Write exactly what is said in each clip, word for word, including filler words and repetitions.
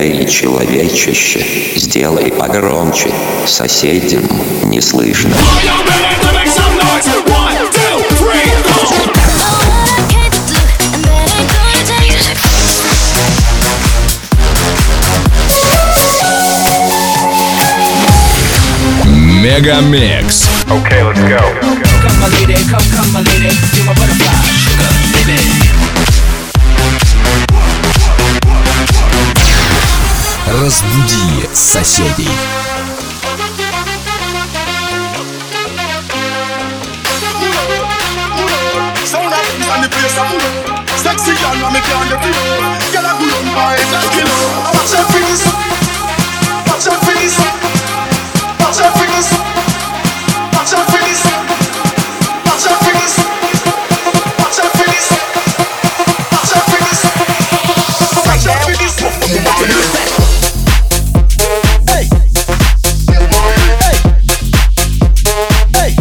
Эй, человечище, сделай погромче, соседям не слышно. Мегамикс. Okay, let's go. Come my lady, come, come my lady, you're my butterfly, sugar, baby. Разбуди соседей. Sound up and the place I'm sexy and I'm can't get it. Girl, I good on my head, kill it. Watch your face, watch your face, watch your face, watch your face, watch your face, watch your face, watch your face, watch your face. Hey, hey, hey.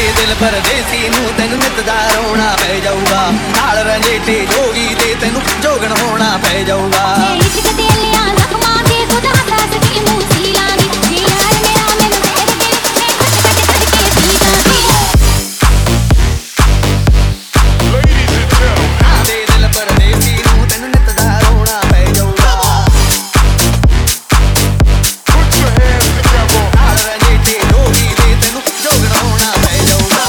ਦਿਲ ਪਰਦੇਸੀ ਨੂੰ ਤੈਨੂੰ ਨਿੱਤ ਦਾ ਰੋਣਾ ਪੈ ਜਾਊਗਾ ਨਾਲ ਰੰਜੇਟੇ ਜੋਗੀ ਤੇ ਤੈਨੂੰ ਜੋਗਣ ਹੋਣਾ ਪੈ ਜਾਊਗਾ ਇਸ਼ਕ ਦੇ ਲਿਆ ਜ਼ਖਮਾਂ ਤੇ ਖੁਦਾ ਦੱਸ ਕੀ ਮੂੰਹ ਸੀ ਲਾਂਗੀ ਜੇ ਯਾਰ ਮੇਰਾ ਮੈਨੂੰ ਜ਼ਹਿਰ ਦੇ ਮੈਂ ਘਟ ਘਟ ਕਰਕੇ ਪੀ ਲਾਂਗੀ ਦੇ ਦਿਲ ਪਰਦੇਸੀ ਨੂੰ ਤੈਨੂੰ ਨਿੱਤ ਦਾ ਰੋਣਾ ਪੈ ਜਾਊਗਾ ਨਾਲ ਰੰਜੇਟੇ ਜੋਗੀ ਤੇ ਤੈਨੂੰ ਜੋਗਣ ਹੋਣਾ ਪੈ ਜਾਊਗਾ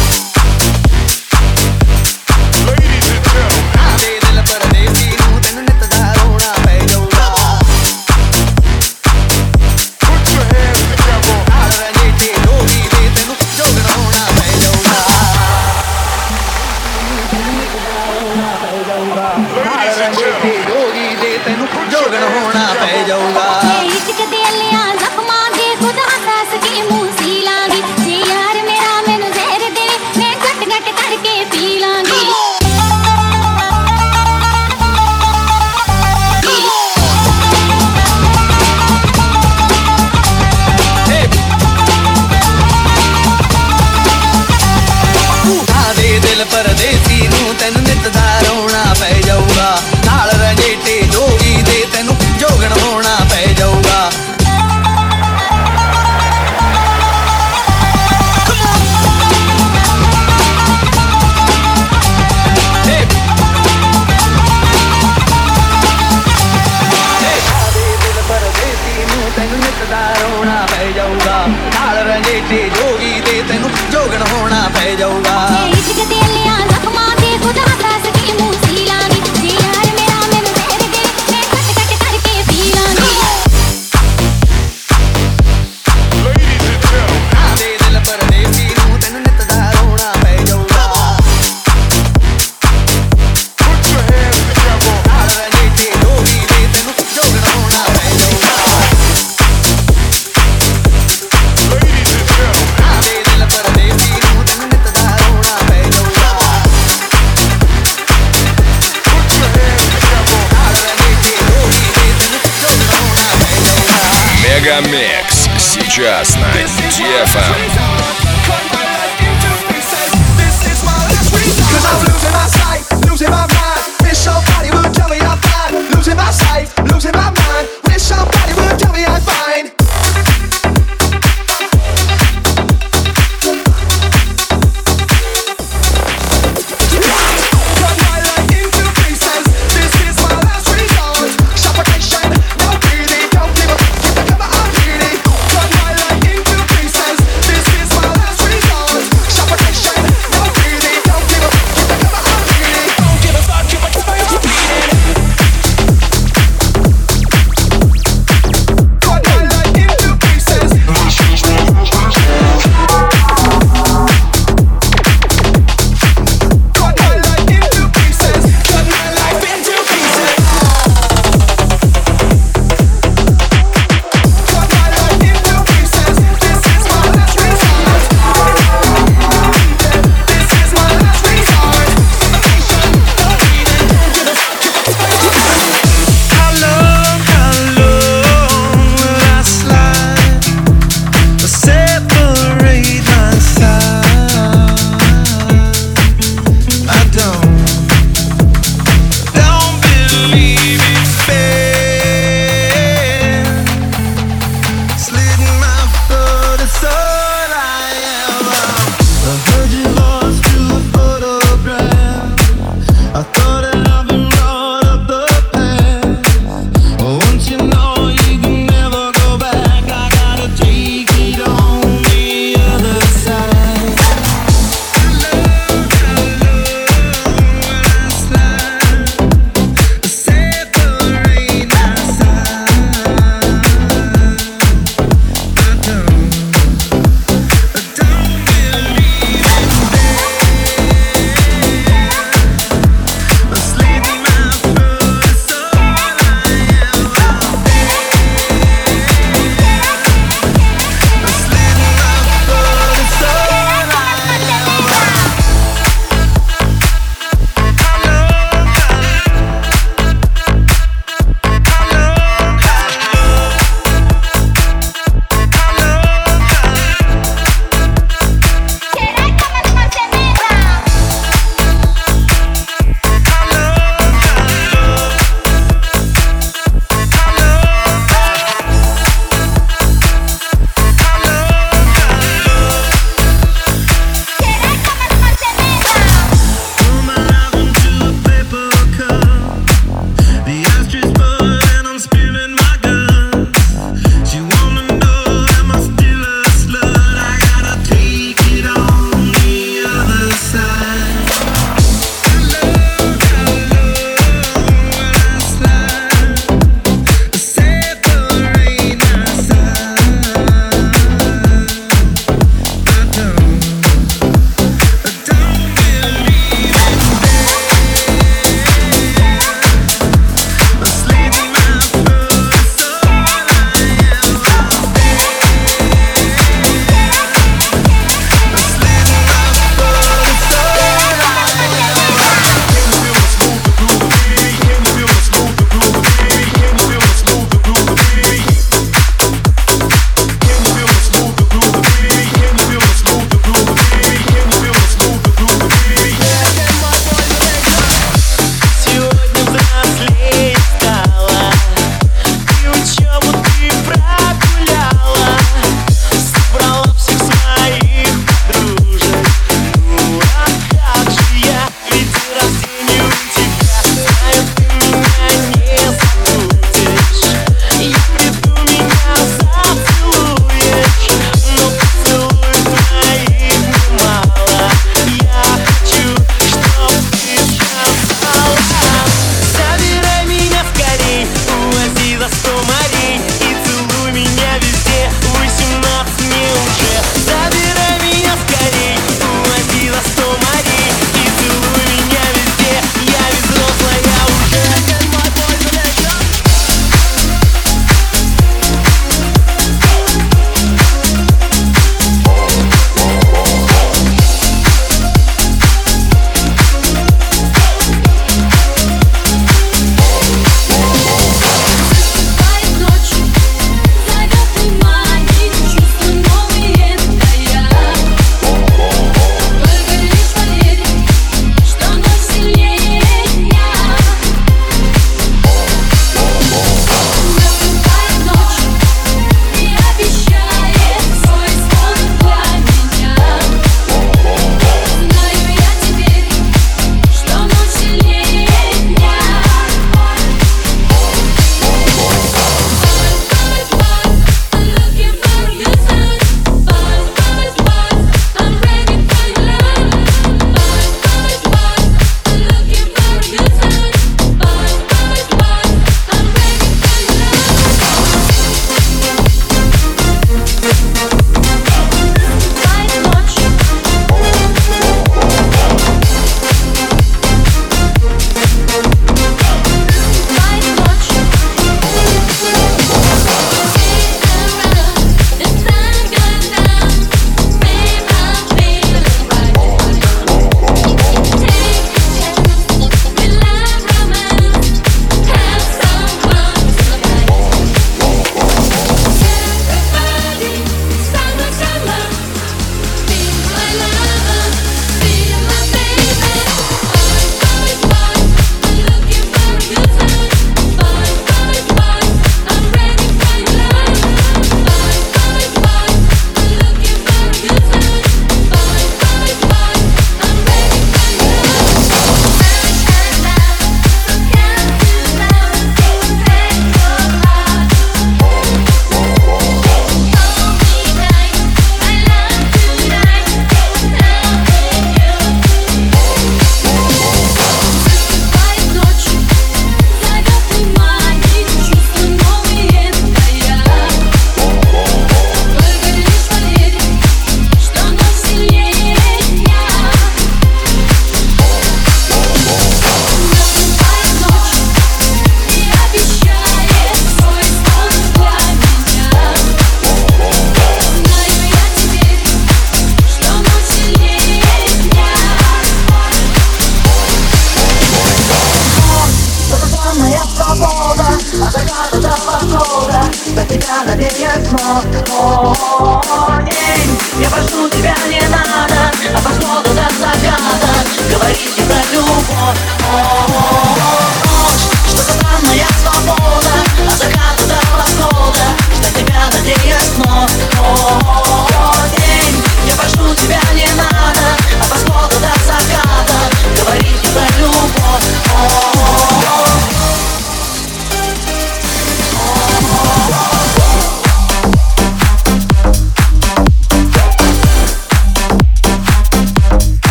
ਦੇ ਦਿਲ ਪਰਦੇਸੀ ਨੂੰ ਤੈਨੂੰ ਨਿੱਤ ਦਾ ਰੋਣਾ ਪੈ ਜਾਊਗਾ ਨਾਲ ਰੰਜੇਟੇ ਜੋਗੀ ਤੇ ਤੈਨੂੰ ਜੋਗਣ ਹੋਣਾ ਪੈ ਜਾਊਗਾ ਨਾਲ ਰੰਜੇਟੇ ਜੋਗੀ ਤੇ ਤੈਨੂੰ ਜੋਗਣ ਹੋਣਾ ਪੈ ਜਾਊਗਾ ਇਸ਼ਕ ਦੇ ਲਿਆ ਜ਼ਖਮਾਂ ਤੇ ਖੁਦਾ ਦੱਸ ਕੀ ਮੂੰਹ ਸੀ ਲਾਂਗੀ ਜੇ ਯਾਰ ਮੇਰਾ ਮੈਨੂੰ ਜ਼ਹਿਰ ਦੇ ਮੈਂ ਘਟ ਘਟ ਕਰਕੇ ਪੀ ਲਾਂਗੀ ਦੇ ਦਿਲ ਪਰਦੇਸੀ ਨੂੰ ਤੈਨੂੰ ਨਿੱਤ ਦਾ ਰੋਣਾ ਪੈ ਜਾਊਗਾ ਨਾਲ ਰੰਜੇਟੇ ਜੋਗੀ ਦੇ ਤੈਨੂੰ ਜੋਗਣ ਹੋਣਾ ਪੈ ਜਾਊਗਾ ਤੈਨੂੰ ਨਿੱਤ ਦਾ ਰੋਣਾ ਪੈ ਜਾਊਗਾ ਨਾਲ ਰੰਜੇਟੇ ਜੋਗੀ ਤੇ ਤੈਨੂੰ ਜੋਗਣ ਹੋਣਾ ਪੈ ਜਾਊਗਾ ਇਸ਼ਕ ਦੇ ਲਿਆ ਜ਼ਖਮਾਂ ਤੇ ਖੁਦਾ ਦੱਸ ਕੀ ਮੂੰਹ ਸੀ ਲਾਂਗੀ ਜੇ ਯਾਰ ਮੇਰਾ ਮੈਨੂੰ ਜ਼ਹਿਰ ਦੇ ਮੈਂ ਘਟ ਘਟ ਕਰਕੇ ਪੀ ਲਾਂਗੀ ਦੇ ਦਿਲ ਪਰਦੇਸੀ ਨੂੰ ਤੈਨੂੰ ਨਿੱਤ ਦਾ ਰੋਣਾ ਪੈ ਜਾਊਗਾ ਨਾਲ ਰੰਜੇਟੇ ਜੋਗੀ ਤੇ ਤੈਨੂੰ ਜੋਗਣ ਹੋਣਾ ਪੈ ਜਾਊਗਾ ਦੇ ਦਿਲ ਪਰਦੇਸੀ ਨੂੰ ਤੈਨੂੰ ਨਿੱਤ ਦਾ ਰੋਣਾ ਪੈ ਜਾਊਗਾ ਨਾਲ ਰੰਜੇਟੇ ਜੋਗੀ ਤੇ ਤੈਨੂੰ ਜੋਗਣ ਹੋਣਾ ਪੈ ਜਾਊਗਾ Мегамикс сейчас на ди эф эм. Cause I'm losing my sight, losing my mind. Wish somebody would tell me I'm fine. Losing my sight, losing my mind. Wish somebody would tell me I'm fine. Cut my life into pieces. This is my last resort. Suffocation, no breathing. Don't give up, keep the cover, I'm bleeding. Cut my life into pieces. This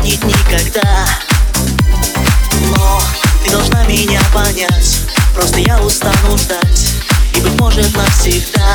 запомнить никогда. Но ты должна меня понять, просто я устану ждать, и, быть может, навсегда.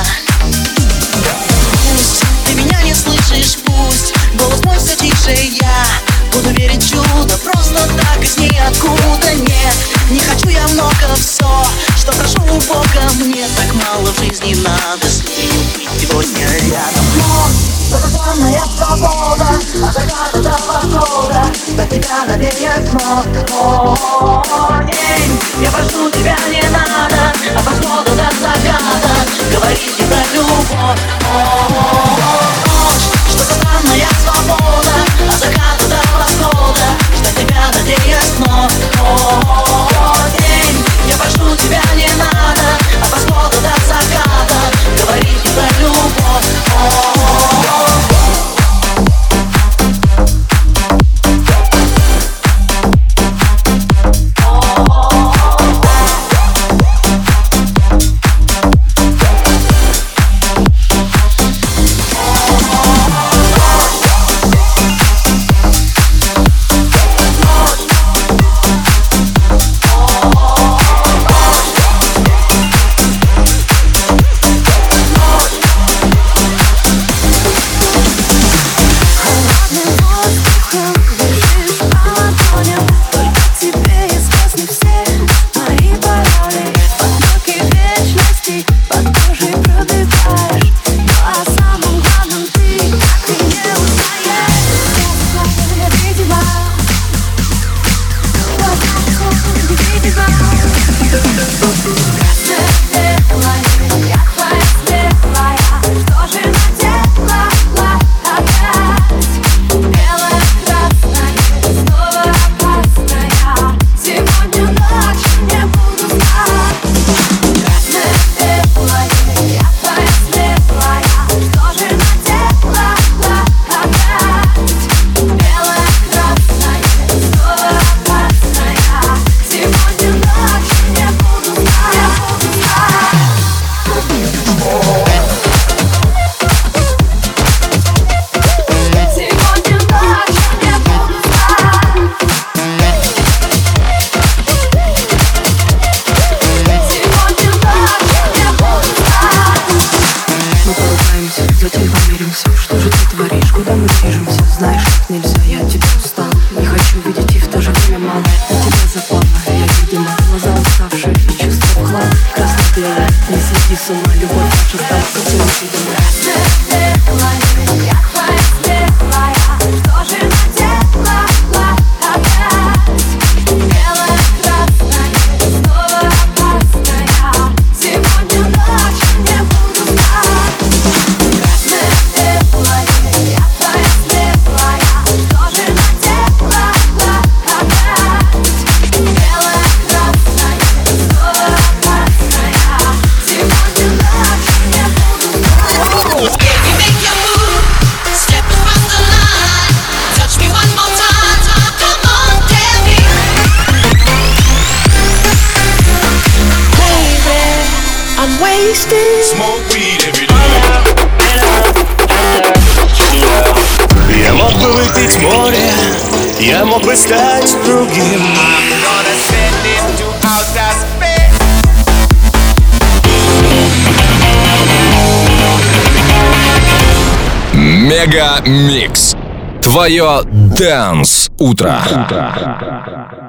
Пусть ты меня не слышишь, пусть голос мой все тише, я буду верить в чудо, просто так из ниоткуда. Нет, не хочу я много, все, что прошу у Бога, мне так мало в жизни надо с ней быть сегодня рядом. Но это моя свобода, от заката до восхода, без тебя надеюсь вновь. О, день, я прошу тебя, не надо, от восхода до заката говорить не про любовь. О, ночь, что это моя свобода, от заката до восхода, ждать тебя надеюсь вновь. О, день, я прошу тебя, не надо, от восхода до заката говорить не про любовь. Я мог бы выпить море, я мог бы стать другим. Мега Микс. Твое Dance утро.